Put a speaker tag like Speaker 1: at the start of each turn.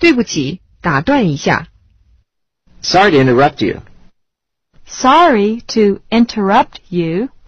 Speaker 1: 对不起，打断一下。
Speaker 2: Sorry to interrupt you.
Speaker 3: Sorry to interrupt you.